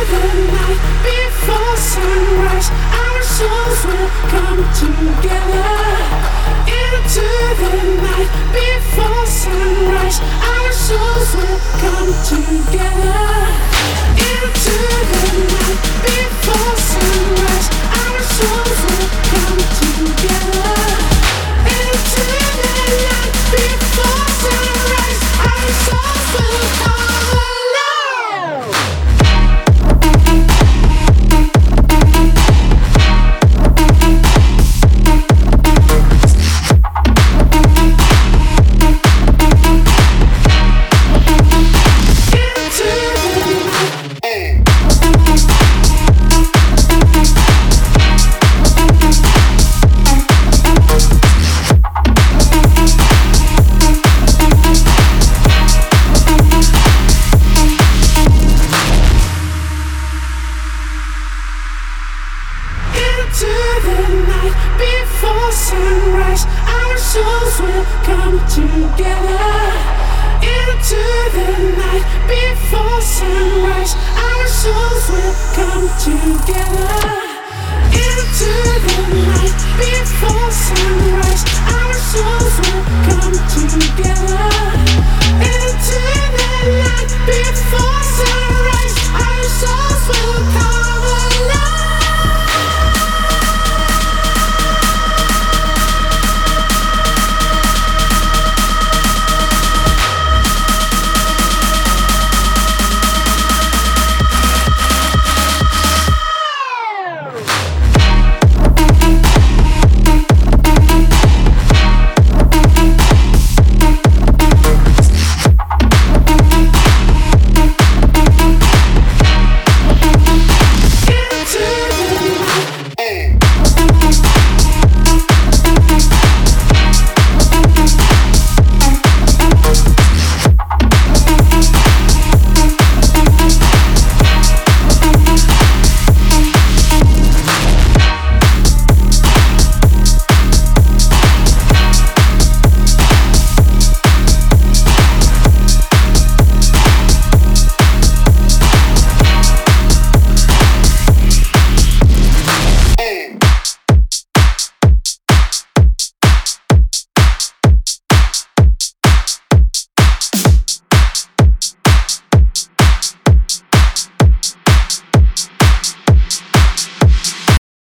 the night before sunrise, our souls will come together. Into the night before sunrise, our souls will come together. Into the night before sunrise, our souls will come together. Into the night before sunrise, our souls will come alive. Into the night before sunrise, our souls will come together. Into the night before sunrise.